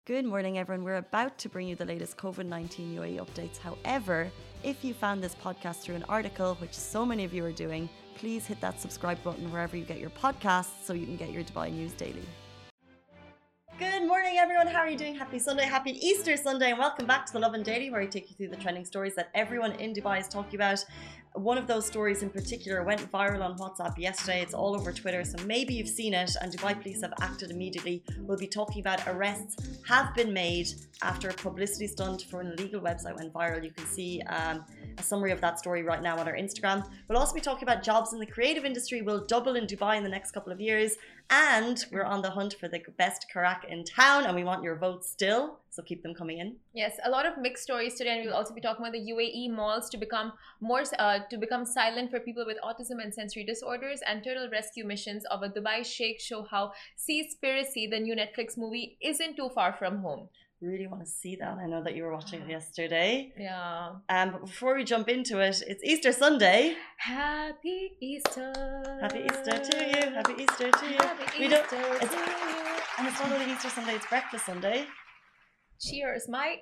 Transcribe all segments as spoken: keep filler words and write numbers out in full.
Good morning, everyone. We're about to bring you the latest COVID nineteen U A E updates. However, if you found this podcast through an article, which so many of you are doing, please hit that subscribe button wherever you get your podcasts so you can get your Dubai news daily. Good morning, everyone. How are you doing? Happy Sunday, happy Easter Sunday, and welcome back to the Lovin Daily, where I take you through the trending stories that everyone in Dubai is talking about. One of those stories in particular went viral on WhatsApp yesterday. It's all over Twitter, so maybe you've seen it, and Dubai police have acted immediately. We'll be talking about arrests have been made after a publicity stunt for an illegal website went viral. You can see um, a summary of that story right now on our Instagram. We'll also be talking about jobs in the creative industry will double in Dubai in the next couple of years, and we're on the hunt for the best karak in town, and we want your votes still, so keep them coming in. Yes, a lot of mixed stories today, and we'll also be talking about the U A E malls to become more uh, to become silent for people with autism and sensory disorders, and turtle rescue missions of a Dubai sheikh show how Seaspiracy, the new Netflix movie, isn't too far from home. Really want to see that. I know that you were watching it yesterday. Yeah. Um, but before we jump into it, it's Easter Sunday. Happy Easter. Happy Easter to you. Happy Easter to you. Happy we Easter don't, it's, to you. And it's not only Easter Sunday, it's Breakfast Sunday. Cheers, mate.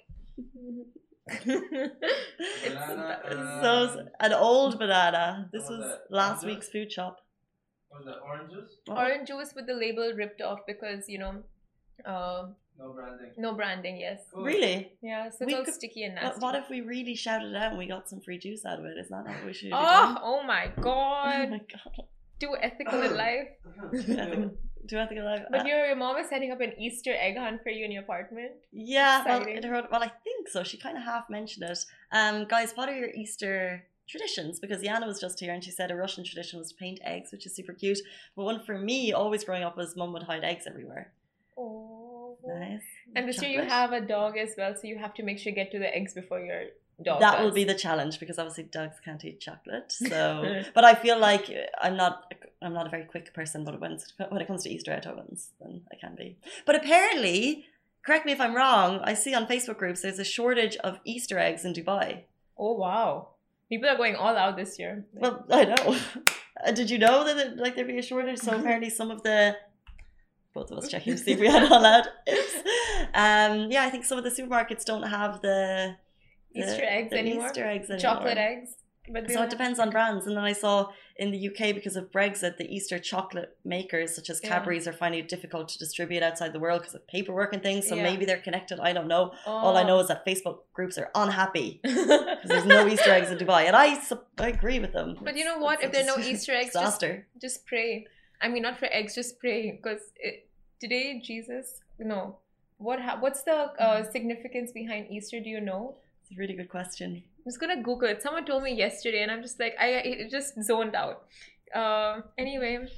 Banana, uh, so an old banana. This was, was last oranges? week's food shop. What was that? Oranges? Oh. Orange juice with the label ripped off because, you know, uh, no branding. No branding, yes. Cool. Really? Yeah, so it's all sticky and nasty. What if we really shouted it out and we got some free juice out of it? Is that not what we should oh, be doing? Oh my god. Oh my god. Too ethical in life. Too ethical. Too ethical in life. But uh, your, your mom is setting up an Easter egg hunt for you in your apartment. Yeah, well, it heard, well, I think so. She kind of half mentioned it. Um, guys, what are your Easter traditions? Because Yana was just here and she said a Russian tradition was to paint eggs, which is super cute. But one for me, always growing up, was mum would hide eggs everywhere. Oh, nice. And this year you have a dog as well, so you have to make sure you get to the eggs before your dog that does. will be the challenge, because obviously dogs can't eat chocolate. So, but I feel like I'm not I'm not a very quick person, but when when it comes to Easter egg ovens, then I can be. But apparently, correct me if I'm wrong, I see on Facebook groups there's a shortage of Easter eggs in Dubai. Oh wow, people are going all out this year. Well, I know. Did you know that it, like there'd be a shortage? So apparently some of the both of us checking to see if we had all out. Um, yeah, I think some of the supermarkets don't have the Easter the, eggs the anymore. Easter eggs anymore. Chocolate eggs. But so it depends on brands. And then I saw in the U K, because of Brexit, the Easter chocolate makers such as Cadbury's yeah. are finding it difficult to distribute outside the world because of paperwork and things. So yeah. maybe they're connected. I don't know. Oh. All I know is that Facebook groups are unhappy because there's no Easter eggs in Dubai, and I I agree with them. But you know what? If there are no Easter eggs, just, just pray. I mean, not for eggs, just pray, because today Jesus. No, what ha- what's the uh, significance behind Easter? Do you know? It's a really good question. I'm just gonna Google it. Someone told me yesterday, and I'm just like, I it just zoned out. Uh, anyway,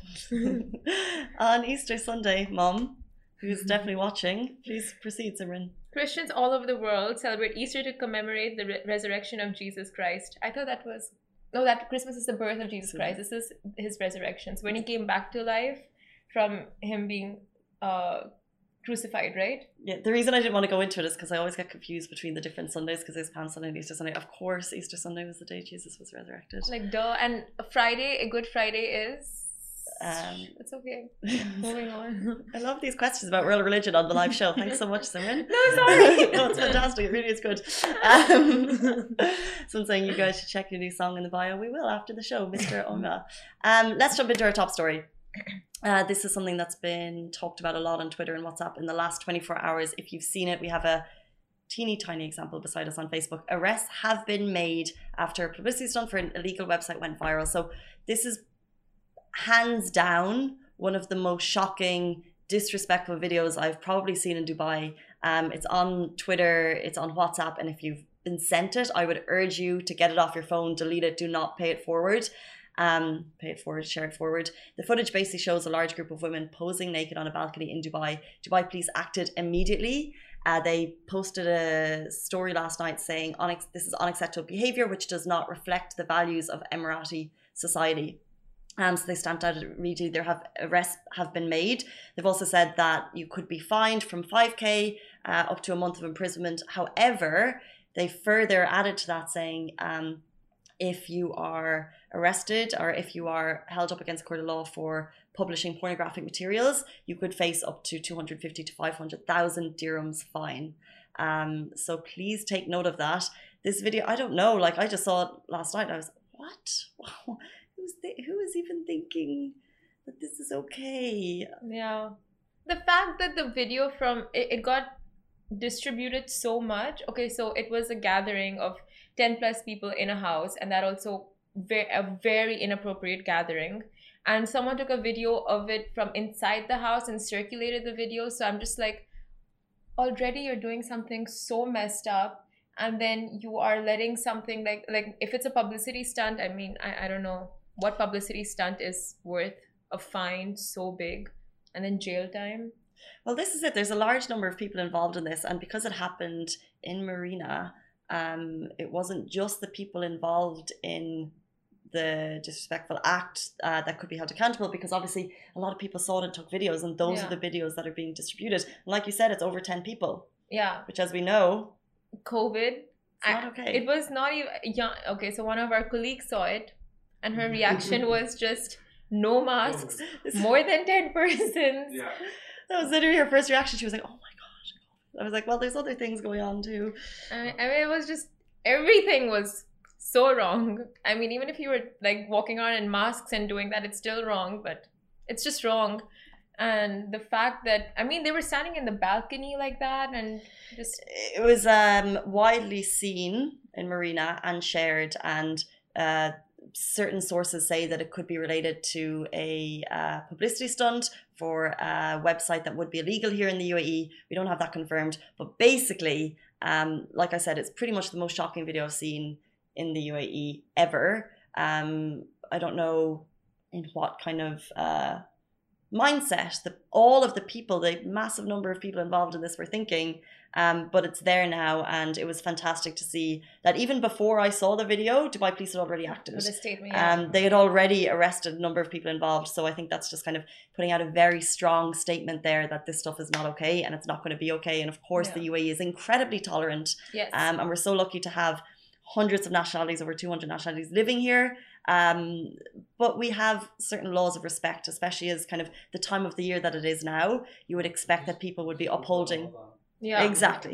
on Easter Sunday, Mom, who's definitely watching, please proceed, Simran. Christians all over the world celebrate Easter to commemorate the re- resurrection of Jesus Christ. I thought that was no, that Christmas is the birth of Jesus Christ. This is his resurrection. So when he came back to life from him being uh. crucified, right? Yeah, the reason I didn't want to go into it is because I always get confused between the different Sundays, because there's Palm Sunday and Easter Sunday. Of course, Easter Sunday was the day Jesus was resurrected. Like, duh. And Friday, a Good Friday is... Um, it's okay. Moving on. I love these questions about world religion on the live show. Thanks so much, Simran. No, sorry. No, it's fantastic. It really is good. Um, so I'm saying you guys should check your new song in the bio. We will after the show, Mister Onga. Um, let's jump into our top story. Uh, this is something that's been talked about a lot on Twitter and WhatsApp in the last twenty-four hours. If you've seen it, we have a teeny tiny example beside us on Facebook. Arrests have been made after a publicity stunt for an illegal website went viral. So this is hands down one of the most shocking, disrespectful videos I've probably seen in Dubai. Um, it's on Twitter, it's on WhatsApp, and if you've been sent it, I would urge you to get it off your phone, delete it, do not pay it forward. Um, pay it forward, share it forward. The footage basically shows a large group of women posing naked on a balcony in Dubai. Dubai police acted immediately. Uh, they posted a story last night saying Unex- this is unacceptable behaviour which does not reflect the values of Emirati society. Um, so they stamped out immediately. There have arrests have been made. They've also said that you could be fined from five K uh, up to a month of imprisonment. However, they further added to that saying um, if you are arrested or if you are held up against court of law for publishing pornographic materials, you could face up to two hundred fifty to five hundred thousand dirhams fine. Um, so please take note of that. This video, I don't know, like I just saw it last night and I was, what? Who's th- who is even thinking that this is okay? Yeah. The fact that the video from, it, it got distributed so much. Okay, so it was a gathering of ten plus people in a house, and that also very, a very inappropriate gathering. And someone took a video of it from inside the house and circulated the video. So I'm just like, already you're doing something so messed up, and then you are letting something like, like if it's a publicity stunt, I mean, I, I don't know what publicity stunt is worth a fine so big and then jail time. Well, this is it. There's a large number of people involved in this, and because it happened in Marina, um, it wasn't just the people involved in the disrespectful act uh, that could be held accountable, because obviously a lot of people saw it and took videos, and those Yeah. are the videos that are being distributed. And like you said, it's over ten people, Yeah. which, as we know, COVID. it's not I- okay. It was not even, yeah. Okay, so one of our colleagues saw it, and her reaction was just no masks, more than ten persons. Yeah. That was literally her first reaction. She was like, "Oh my gosh!" I was like, "Well, there's other things going on too." I mean, I mean, it was just, everything was so wrong. I mean, even if you were like walking around in masks and doing that, it's still wrong, but it's just wrong. And the fact that, I mean, they were standing in the balcony like that, and just, It was um, widely seen in Marina and shared, and uh, certain sources say that it could be related to a uh, publicity stunt for a website that would be illegal here in the U A E. We don't have that confirmed, but basically, um, like I said, it's pretty much the most shocking video I've seen in the U A E ever. Um, I don't know in what kind of uh, mindset that all of the people, the massive number of people involved in this were thinking, um, but it's there now, and it was fantastic to see that even before I saw the video, Dubai Police had already acted. with a statement. Yeah. Um, they had already arrested a number of people involved, so I think that's just kind of putting out a very strong statement there that this stuff is not okay and it's not going to be okay. And of course, Yeah. the U A E is incredibly tolerant, Yes. um, and we're so lucky to have hundreds of nationalities, over two hundred nationalities living here. Um, but we have certain laws of respect, especially as kind of the time of the year that it is now. You would expect that people would be upholding. yeah. Exactly.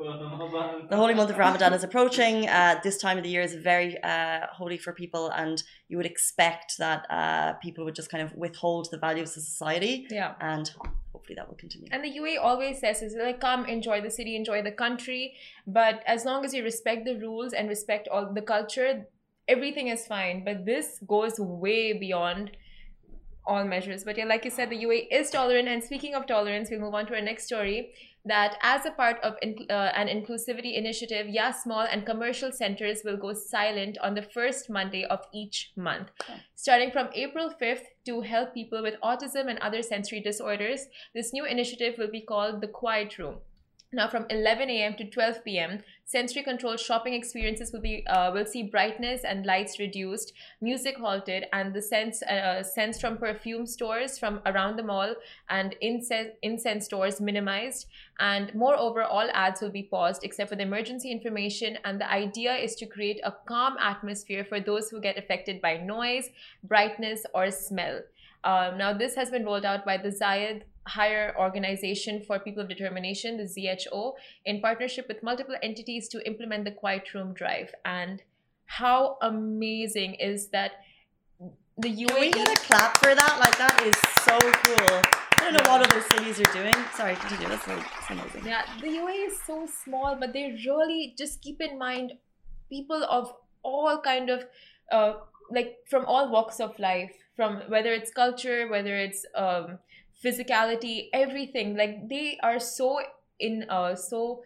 The holy month of Ramadan is approaching. Uh, this time of the year is very uh, holy for people, and you would expect that uh, people would just kind of withhold the values of society, Yeah. and hopefully that will continue. And the U A E always says, is like, come enjoy the city, enjoy the country, but as long as you respect the rules and respect all the culture, everything is fine. But this goes way beyond all measures. But yeah, like you said, the U A E is tolerant. And speaking of tolerance, we'll move on to our next story. That as a part of in, uh, an inclusivity initiative, yeah, small and commercial centers will go silent on the first Monday of each month. Okay. Starting from April fifth, to help people with autism and other sensory disorders, this new initiative will be called the Quiet Room. Now, from eleven a.m. to twelve p.m., sensory-controlled shopping experiences will be uh, will see brightness and lights reduced, music halted, and the scents uh, scents from perfume stores from around the mall and incense incense stores minimized. And moreover, all ads will be paused except for the emergency information. And the idea is to create a calm atmosphere for those who get affected by noise, brightness, or smell. Um, now, this has been rolled out by the Zayed Higher Organization for People of Determination, the Z H O, in partnership with multiple entities to implement the Quiet Room Drive. And how amazing is that the U Can A E... we get a clap for that? Like, that is so cool. I don't know what other cities are doing. Sorry, continue. That's, that's amazing. Yeah, the U A E is so small, but they really just keep in mind people of all kind of, uh, like from all walks of life, from whether it's culture, whether it's um, physicality, everything. Like they are so in, uh, so,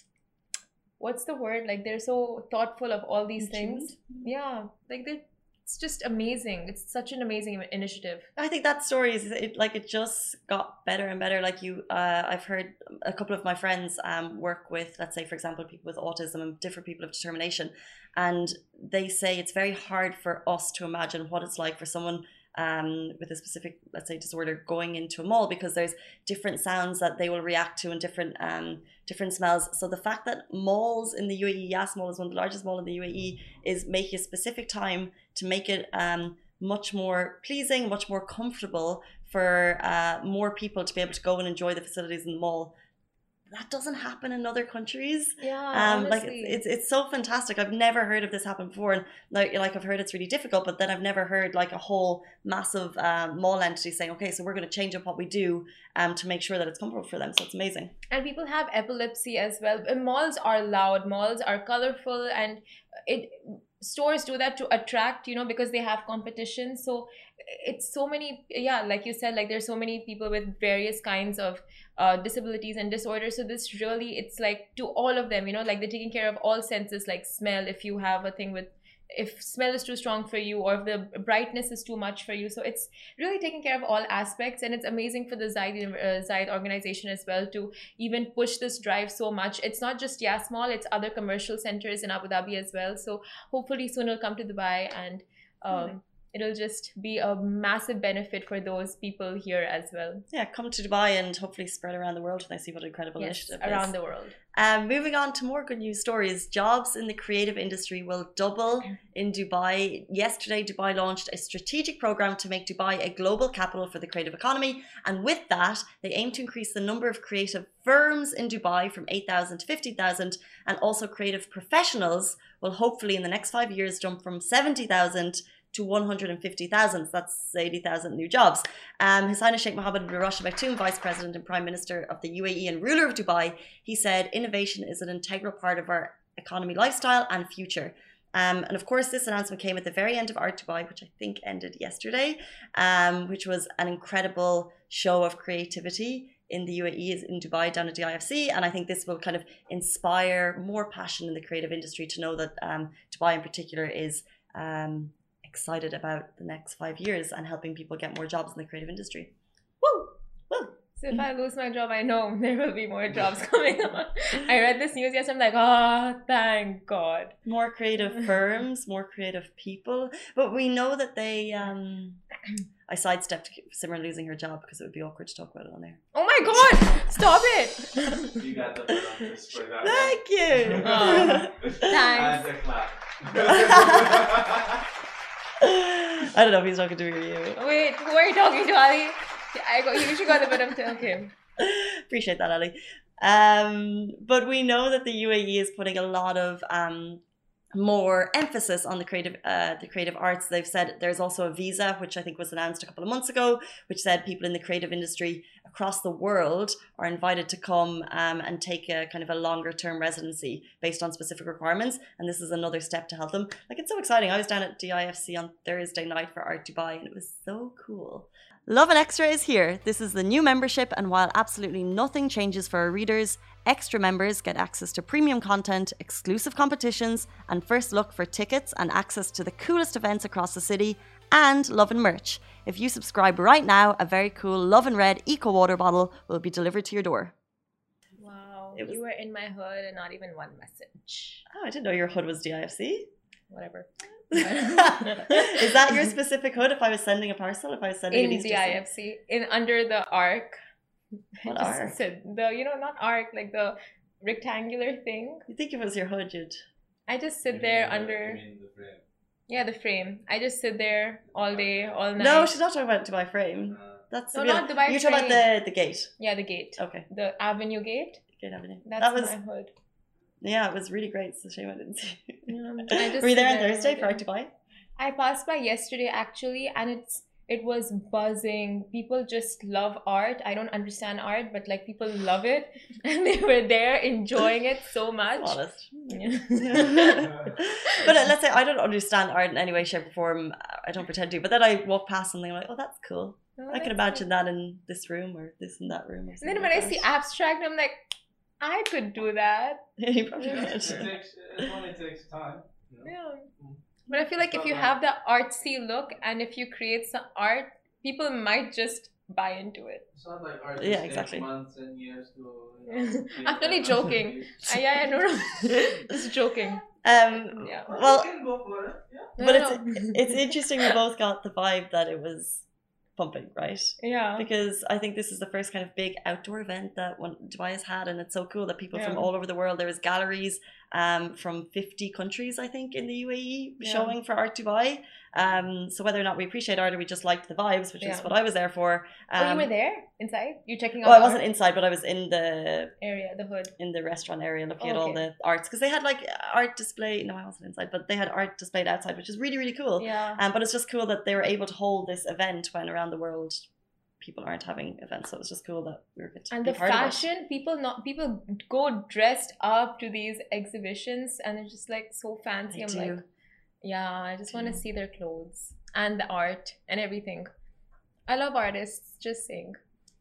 what's the word? Like they're so thoughtful of all these things. Yeah, like they. It's just amazing. It's such an amazing initiative. I think that story is it, like it just got better and better. Like you, uh, I've heard a couple of my friends um, work with, let's say, for example, people with autism and different people of determination, and they say it's very hard for us to imagine what it's like for someone um, with a specific, let's say, disorder going into a mall, because there's different sounds that they will react to and different um, different smells. So the fact that malls in the U A E, Yas Mall is one of the largest malls in the U A E, is making a specific time to make it um, much more pleasing, much more comfortable for uh, more people to be able to go and enjoy the facilities in the mall. That doesn't happen in other countries. Yeah, um, like honestly. it's, it's it's so fantastic. I've never heard of this happen before, and like like I've heard it's really difficult, but then I've never heard like a whole massive um, mall entity saying, okay, so we're going to change up what we do um to make sure that it's comfortable for them. So it's amazing. And people have epilepsy as well. Uh, Malls are loud, malls are colorful, and it stores do that to attract, you know, because they have competition. So it's so many, yeah, like you said, like there's so many people with various kinds of uh, disabilities and disorders. So this really, it's like to all of them, you know, like they're taking care of all senses, like smell, if you have a thing with, if smell is too strong for you, or if the brightness is too much for you. So it's really taking care of all aspects, and it's amazing for the Zaid, uh, Zaid organization as well to even push this drive so much. It's not just Yas Mall, it's other commercial centers in Abu Dhabi as well. So hopefully soon it'll come to Dubai, and um, it'll just be a massive benefit for those people here as well. Yeah, come to Dubai and hopefully spread around the world when I see what an incredible Yes, initiative around is. the world. Um, moving on to more good news stories. Jobs in the creative industry will double in Dubai. Yesterday, Dubai launched a strategic program to make Dubai a global capital for the creative economy. And with that, they aim to increase the number of creative firms in Dubai from eight thousand to fifty thousand. And also creative professionals will hopefully in the next five years jump from seventy thousand to one hundred fifty thousand. That's eighty thousand new jobs. Um, His Highness Sheikh Mohammed bin Rashid Al Maktoum, Vice President and Prime Minister of the U A E and ruler of Dubai, he said innovation is an integral part of our economy, lifestyle and future. Um, and of course, this announcement came at the very end of Art Dubai, which I think ended yesterday, um, which was an incredible show of creativity in the U A E, in Dubai, down at D I F C. And I think this will kind of inspire more passion in the creative industry to know that um, Dubai in particular is um, excited about the next five years and helping people get more jobs in the creative industry. Woo! Woo! So if I lose my job, I know there will be more jobs coming up. I read this news yesterday, I'm like, oh, thank God. More creative firms, more creative people. But we know that they, um, I sidestepped Simran losing her job because it would be awkward to talk about it on air. Oh my God, stop it. You got the parameters for that. Thank you. Oh, thanks. And a clap. I don't know if he's talking to me or you. Wait, who are you talking to, Ali? I got, you should got a bit of okay. Appreciate that, Ali. Um, but we know that the U A E is putting a lot of um, more emphasis on the creative, uh, the creative arts. They've said there's also a visa, which I think was announced a couple of months ago, which said people in the creative industry across the world are invited to come um, and take a kind of a longer term residency based on specific requirements. And this is another step to help them. Like, it's so exciting. I was down at D I F C on Thursday night for Art Dubai, and it was so cool. Lovin Extra is here. This is the new membership, and while absolutely nothing changes for our readers, extra members get access to premium content, exclusive competitions, and first look for tickets and access to the coolest events across the city, and Lovin merch. If you subscribe right now, a very cool Lovin Red Eco Water bottle will be delivered to your door. Wow, It was- you were in my hood and not even one message. Oh, I didn't know your hood was D I F C. Whatever. Is that your specific hood? If I was sending a parcel, if I was sending an In Easter D I F C, in under the arc. What I just arc? said the, you know, not arc, like the rectangular thing. You think if it was your hood, you'd... I just sit You there mean the- under, you mean the frame? yeah, the frame. I just sit there all day, all night. No, she's not talking about Dubai frame. Uh, That's No, the not Dubai You're talking about frame. the, the gate. Yeah, the gate, Okay. the avenue gate. Gate Avenue. That's that was, my hood. yeah, it was really great. It's a shame I didn't see it. Yeah, I just Were you there sit on there Thursday all for Art day. Dubai? I passed by yesterday actually, and it's it was buzzing. People just love art. I don't understand art, but like people love it, and they were there enjoying it so much. Honest. Yeah. But uh, let's say I don't understand art in any way, shape, or form. I don't pretend to. But then I walk past something, I'm like, oh, that's cool. Oh, I can that's imagine that in this room or this in that room. Or And something then when I like see that. abstract, I'm like, I could do that. You probably Yeah. could. It takes, it only takes time. You know? Yeah. But I feel like if you have the artsy look and if you create some art, people might just buy into it. It's not like art Yeah, takes exactly. months and years to. You know, I'm be only joking. masterpiece. I, yeah, I know. Just joking. Um, Yeah. well, You can go for it. Yeah. No, but no, it's no. it's interesting. We both got the vibe that it was pumping, right? Yeah. Because I think this is the first kind of big outdoor event that one, Dubai has had, and it's so cool that people from Yeah. all over the world. There was galleries um, from fifty countries, I think, in the U A E Yeah. showing for Art Dubai. Um, so whether or not we appreciate art or we just liked the vibes, which is Yeah. what I was there for. Um, Oh, you were there inside? You checking out Well, I the wasn't art inside, but I was in the area, the hood. in the restaurant area looking Oh, at all okay. the arts because they had like art display. No, I wasn't inside, but they had art displayed outside, which is really really cool. Yeah. Um, but it's just cool that they were able to hold this event when around the world people aren't having events. So it's just cool that we were good to And be the part of it. fashion, people not people go dressed up to these exhibitions and they're just like so fancy. I I'm do. like, yeah, I just want to do. see their clothes and the art and everything. I love artists, just saying.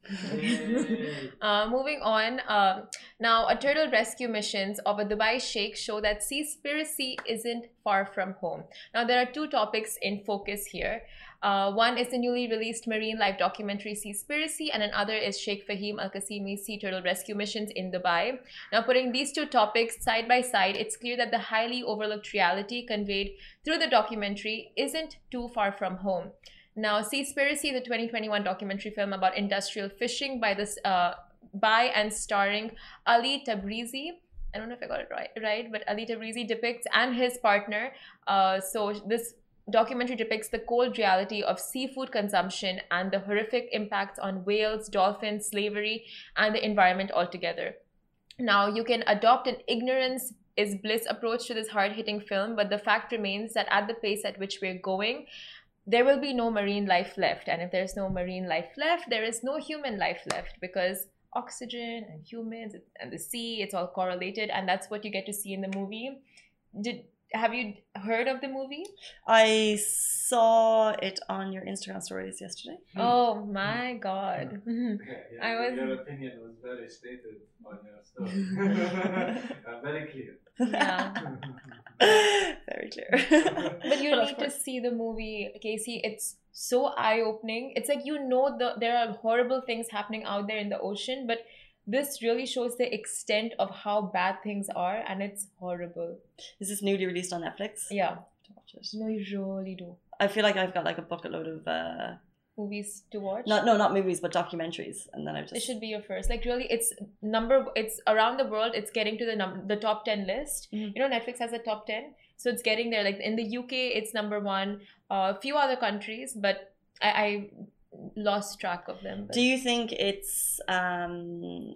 Yay. Uh, moving on, um, now a turtle rescue missions of a Dubai sheikh show that Seaspiracy isn't far from home. Now there are two topics in focus here. Uh, one is the newly released marine life documentary Seaspiracy, and another is Sheikh Fahim Al Qasimi's sea turtle rescue missions in Dubai. Now putting these two topics side by side, it's clear that the highly overlooked reality conveyed through the documentary isn't too far from home. Now, Seaspiracy, the twenty twenty-one documentary film about industrial fishing by this uh, by and starring Ali Tabrizi. I don't know if I got it right, right, but Ali Tabrizi depicts and his partner. Uh, so this documentary depicts the cold reality of seafood consumption and the horrific impacts on whales, dolphins, slavery, and the environment altogether. Now, you can adopt an ignorance is bliss approach to this hard-hitting film, but the fact remains that at the pace at which we're going, there will be no marine life left. And if there's no marine life left, there is no human life left, because oxygen and humans and the sea, it's all correlated, and that's what you get to see in the movie. Did have you heard of the movie? I saw it on your Instagram stories yesterday. Oh my god. Yeah, yeah, I was- Your opinion was very stated on your story. uh, very clear. Yeah. Very clear. But you But of need to course. see the movie, Casey. It's so eye-opening. It's like, you know, the there are horrible things happening out there in the ocean, but this really shows the extent of how bad things are, and it's horrible. Is this newly released on Netflix? Yeah. To watch it. No, you really do. I feel like I've got like a bucket load of uh, Movies to watch. not no not movies but documentaries, and then I've just It should be your first. Like, really, it's number. It's around the world. It's getting to the num the top ten list. Mhm. You know, Netflix has a top ten, so it's getting there. Like in the U K, it's number one. Uh, a few other countries, but I, I lost track of them. But Do you think it's um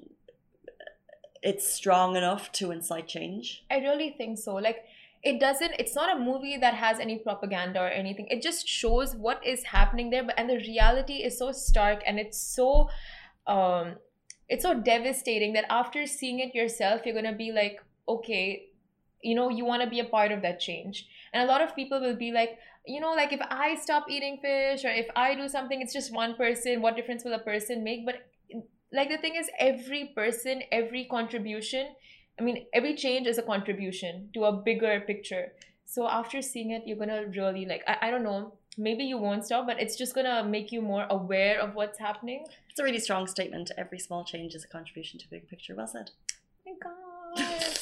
it's strong enough to incite change? I really think so. Like, it doesn't. It's not a movie that has any propaganda or anything. It just shows what is happening there, but and the reality is so stark, and it's so, um, it's so devastating that after seeing it yourself, you're gonna be like, okay, you know, you want to be a part of that change. And a lot of people will be like, you know, like, if I stop eating fish or if I do something, it's just one person. What difference will a person make? But like, the thing is, every person, every contribution, I mean, every change is a contribution to a bigger picture. So after seeing it, you're gonna really like, I, I don't know, maybe you won't stop, but it's just gonna make you more aware of what's happening. It's a really strong statement. Every small change is a contribution to a big picture. Well said. Oh my god.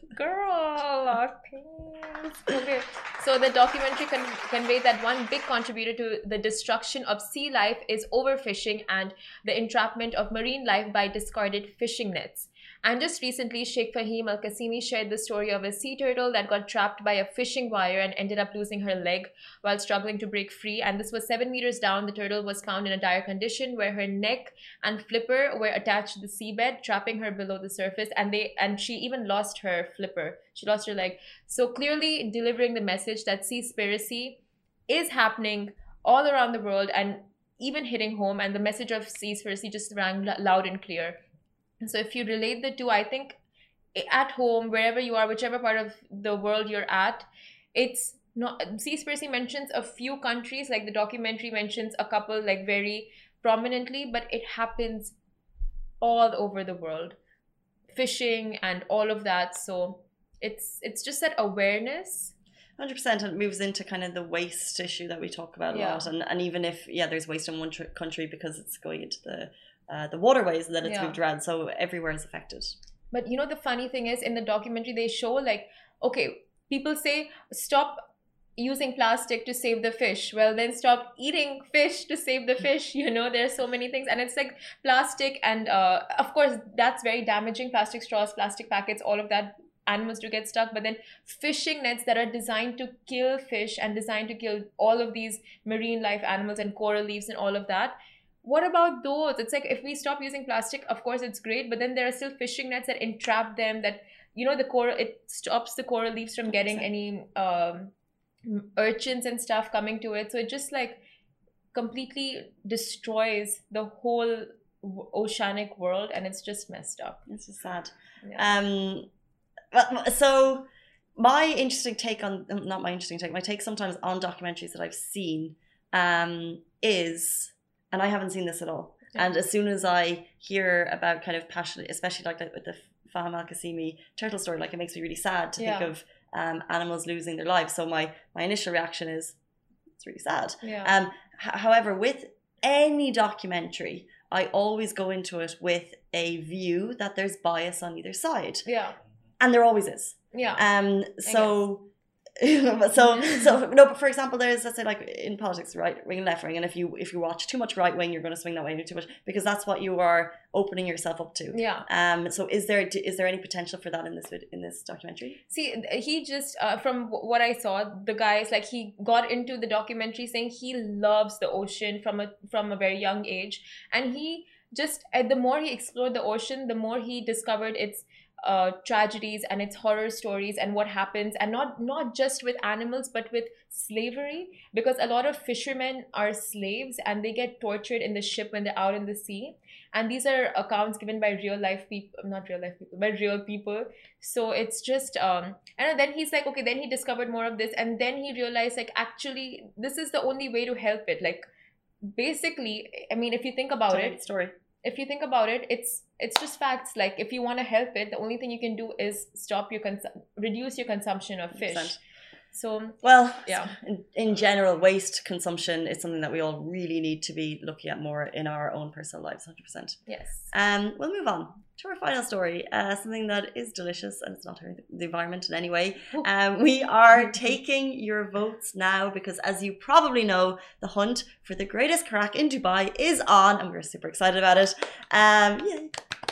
Girl, thanks. Okay, so the documentary con- conveyed that one big contributor to the destruction of sea life is overfishing and the entrapment of marine life by discarded fishing nets. And just recently, Sheikh Fahim Al Qasimi shared the story of a sea turtle that got trapped by a fishing wire and ended up losing her leg while struggling to break free. And this was seven meters down. The turtle was found in a dire condition where her neck and flipper were attached to the seabed, trapping her below the surface. And they and she even lost her flipper. She lost her leg. So clearly delivering the message that Seaspiracy is happening all around the world and even hitting home. And the message of Seaspiracy just rang loud and clear. So if you relate the two, I think at home, wherever you are, whichever part of the world you're at, it's not. Seaspiracy mentions a few countries, like the documentary mentions a couple, like very prominently, but it happens all over the world, fishing and all of that. So it's it's just that awareness. one hundred percent, and it moves into kind of the waste issue that we talk about a Yeah. lot. And, and even if, yeah, there's waste in one tr- country because it's going into the uh, the waterways and then it's Yeah. moved around. So everywhere is affected. But you know, the funny thing is, in the documentary, they show like, okay, people say stop using plastic to save the fish. Well, then stop eating fish to save the fish. You know, there are so many things, and it's like plastic, and uh, of course that's very damaging. Plastic straws, plastic packets, all of that. Animals do get stuck, but then fishing nets that are designed to kill fish and designed to kill all of these marine life animals and coral reefs and all of that. What about those? It's like if we stop using plastic, of course it's great, but then there are still fishing nets that entrap them. That you know the coral, it stops the coral reefs from getting any um, urchins and stuff coming to it. So it just like completely destroys the whole oceanic world, and it's just messed up. It's just sad. Yeah. Um. Well, so my interesting take on, not my interesting take, my take sometimes on documentaries that I've seen um, is, and I haven't seen this at all. Yeah. And as soon as I hear about kind of passionate, especially like with the Faham Al-Qasimi turtle story, like it makes me really sad to yeah. think of um, animals losing their lives. So my, my initial reaction is, it's really sad. Yeah. Um, h- however, with any documentary, I always go into it with a view that there's bias on either side. Yeah. And there always is. Yeah. Um. So, so, so no. But for example, there's, let's say, like in politics, right wing, left wing, and if you if you watch too much right wing, you're going to swing that way too much, because that's what you are opening yourself up to. Yeah. Um. So, is there is there any potential for that in this in this documentary? See, he just uh, from what I saw, the guys like he got into the documentary saying he loves the ocean from a from a very young age, and he just uh, the more he explored the ocean, the more he discovered its uh tragedies and its horror stories and what happens, and not not just with animals but with slavery, because a lot of fishermen are slaves and they get tortured in the ship when they're out in the sea, and these are accounts given by real life people, not real life people, but real people. So it's just um and then he's like, okay, then he discovered more of this, and then he realized like actually this is the only way to help it. Like basically, I mean, if you think about Sorry, it story if you think about it, it's it's just facts. Like if you want to help it, the only thing you can do is stop your cons- reduce your consumption of fish. one hundred percent. So well, yeah, in, in general, waste consumption is something that we all really need to be looking at more in our own personal lives. one hundred percent. Yes. Um, we'll move on to our final story. Uh, something that is delicious, and it's not hurting the environment in any way. Um, we are taking your votes now because, as you probably know, the hunt for the greatest crack in Dubai is on, and we're super excited about it. Um, yeah.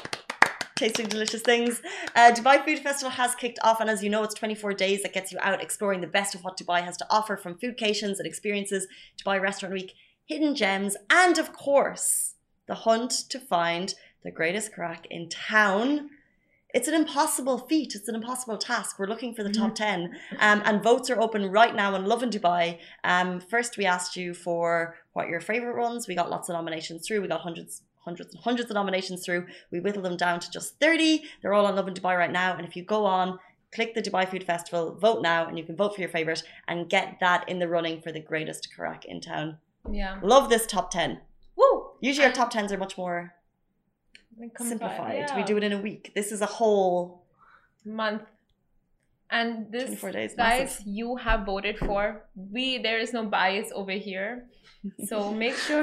Tasting delicious things. Uh, Dubai Food Festival has kicked off, and as you know, it's twenty-four days that gets you out exploring the best of what Dubai has to offer, from foodcations and experiences, Dubai Restaurant Week, hidden gems, and of course, the hunt to find the greatest crack in town. It's an impossible feat. It's an impossible task. We're looking for the top ten, um, and votes are open right now on Lovin Dubai. Um, first, we asked you for what your favorite ones. We got lots of nominations through. We got hundreds hundreds and hundreds of nominations through. We whittled them down to just thirty. They're all on Lovin Dubai right now. And if you go on, click the Dubai Food Festival, vote now, and you can vote for your favorite and get that in the running for the greatest crack in town. Yeah. Love this top ten. Woo! Usually our top tens are much more simplified. Yeah. We do it in a week. This is a whole month. And this, twenty-four days, guys, massive. you have voted for. We, there is no bias over here. So make sure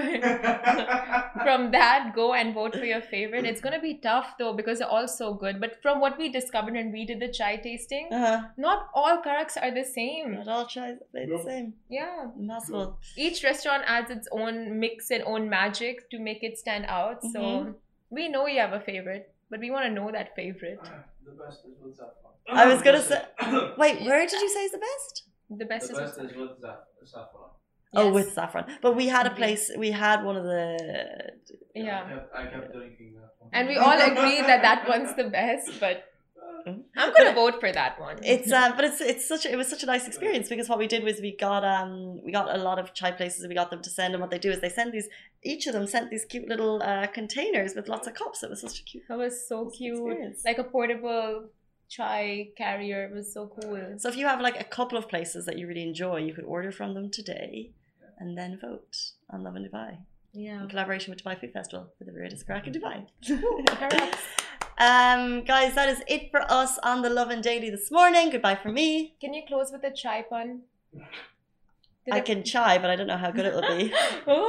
from that, go and vote for your favorite. It's going to be tough though, because they're all so good. But from what we discovered when we did the chai tasting, Uh-huh. not all karaks are the same. Not all chais are the same. Yeah. Impossible. Each restaurant adds its own mix and own magic to make it stand out. So Mhm. we know you have a favorite, but we want to know that favorite. The best is with saffron. I was going to say, wait, where did you say is the best? The best The is best is with zaff- saffron. Oh, Yes. with saffron. But we had a Indeed. place, we had one of the... Yeah. I kept, I kept drinking that one. And we all agree that that one's the best, but I'm gonna vote for that one. It's um, but it's it's such a, it was such a nice experience, because what we did was we got um we got a lot of chai places, and we got them to send, and what they do is they send these, each of them sent these cute little uh, containers with lots of cups. It was such a cute That was so cute, experience. like a portable chai carrier. It was so cool. So if you have like a couple of places that you really enjoy, you could order from them today, and then vote on Lovin Dubai Yeah. in collaboration with Dubai Food Festival for the greatest crack in Dubai. Correct. Um, guys, that is it for us on the Lovin Daily this morning. Goodbye from me. Can you close with a chai pun? Did I it- can chai, but I don't know how good it will be.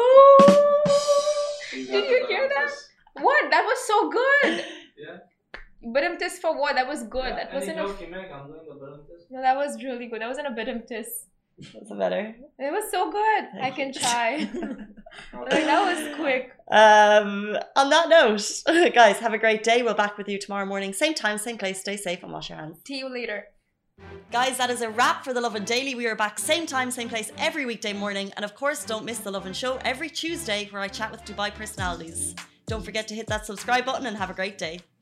Oh! You got Did the you hear that? bananas. What? That was so good. Yeah. Badum-tis for what? That was good. Yeah, that any wasn't a... joke you make, I'm doing the badum-tis. No, that was really good. That wasn't a badum-tis. What's the better? It was so good. Thank I can you. try. Okay. Like, that was quick. Um, on that note, guys, have a great day. We'll back with you tomorrow morning. Same time, same place. Stay safe and wash your hands. See you later. Guys, that is a wrap for The Lovin Daily. We are back same time, same place every weekday morning. And of course, don't miss The Lovin Show every Tuesday where I chat with Dubai personalities. Don't forget to hit that subscribe button and have a great day.